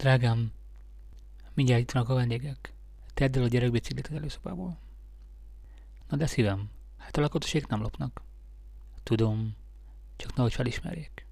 Drágám, mindjárt itt vannak a vendégek. Tedd el a gyerekbiciklit az előszobából. Na de szívem, hát a lakatosék nem lopnak. Tudom, csak nehogy felismerjék.